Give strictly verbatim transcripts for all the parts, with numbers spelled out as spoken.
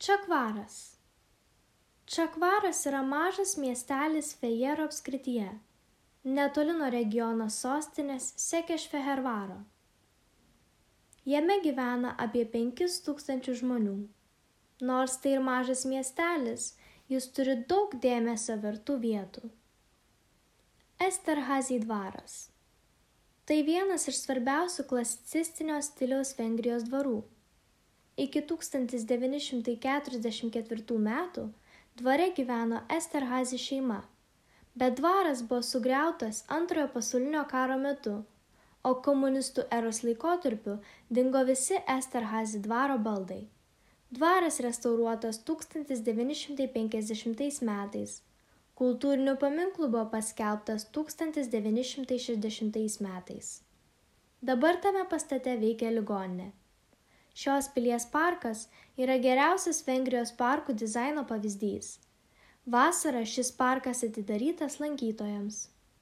Čakvaras. Čakvaras yra mažas miestelis Fejero apskrityje, netoli nuo regiono sostinės Sekešfehervaro. Jame gyvena apie penkis tūkstančius žmonių. Nors tai ir mažas miestelis, jis turi daug dėmesio vertų vietų. Esterhazy dvaras. Tai vienas iš svarbiausių klasicistinio stiliaus Vengrijos dvarų. Iki tūkstantis devyni šimtai keturiasdešimt ketvirtų metų dvare gyveno Esterhazy šeima, bet dvaras buvo sugriautas Antrojo pasaulinio karo metu, o komunistų eros laikotarpiu dingo visi Esterhazy dvaro baldai. Dvaras restauruotas tūkstantis devyni šimtai penkiasdešimtais metais. Kultūriniu paminklu buvo paskelbtas tūkstantis devyni šimtai šešiasdešimtais metais. Dabar tame pastate veikia ligoninė. Šios pilies parkas yra geriausias Vengrijos parkų dizaino pavyzdys. Vasarą šis parkas atidarytas lankytojams.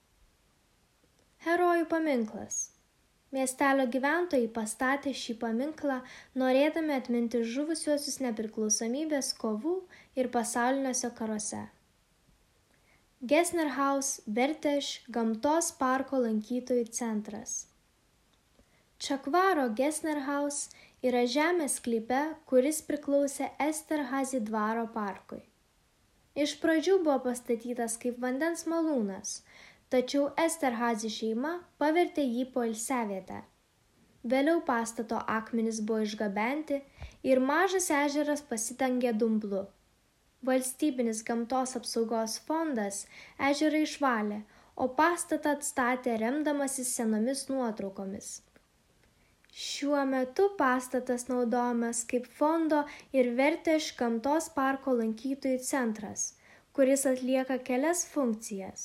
Herojų paminklas. Miestelio gyventojai pastatė šį paminklą, norėdami atminti žuvusiuosius nepriklausomybės kovų ir pasauliniuose karuose. Gesnerhaus Verteš gamtos parko lankytojų centras. Čakvaro Gesnerhaus yra žemės sklype, kuris priklausė Esterhazy dvaro parkui. Iš pradžių buvo pastatytas kaip vandens malūnas, tačiau Esterhazy šeima pavertė jį poilsiavietę. Vėliau pastato akmenys buvo išgabenti ir mažas ežeras pasidengė dumblu. Valstybinis gamtos apsaugos fondas ežerą išvalė, o pastatą atstatė remdamasis senomis nuotraukomis. Šiuo metu pastatas naudojamas kaip fondo ir Verteš gamtos parko lankytojų centras, kuris atlieka kelias funkcijas.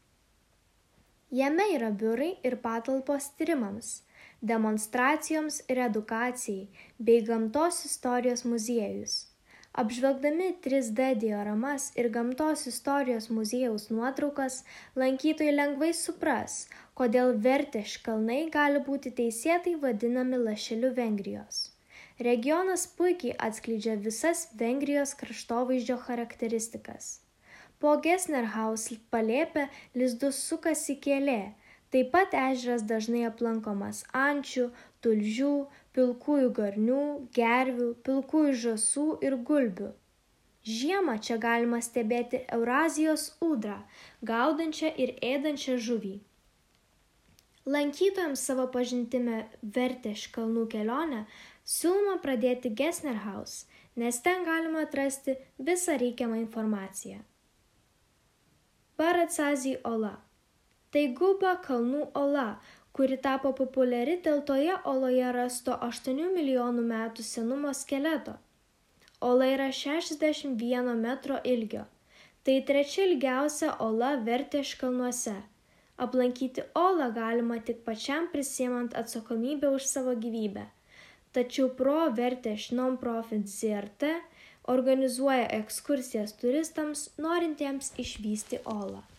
Jame yra biurai ir patalpos tyrimams, demonstracijoms ir edukacijai bei gamtos istorijos muziejus. Apžvelgdami trys D dioramas ir gamtos istorijos muziejaus nuotraukas, lankytojai lengvai supras, kodėl Verteš kalnai gali būti teisėtai vadinami lašeliu Vengrijos. Regionas puikiai atskleidžia visas Vengrijos kraštovaizdžio charakteristikas. Po Gesnerhaus palėpę lizdus sukasi kielė, taip pat ežeras dažnai aplankomas ančių, tulžių, pilkųjų garnių, gervių, pilkųjų žąsų ir gulbių. Žiemą čia galima stebėti Eurazijos ūdrą, gaudančią ir ėdančią žuvį. Lankytojams savo pažintime Verteš kalnų kelionę siūloma pradėti Gesnerhaus, nes ten galima atrasti visą reikiamą informaciją. Baracazy ola. Tai Guba kalnų ola, kuri tapo populiari dėl toje oloje rasto aštuonių milijonų metų senumo skeleto. Ola yra šešiasdešimt vieno metro ilgio. Tai trečia ilgiausia ola Verteš kalnuose. Aplankyti olą galima tik pačiam prisiimant atsakomybę už savo gyvybę. Tačiau Pro Verteš Non-Profit Z R T organizuoja ekskursijas turistams, norintiems išvysti olą.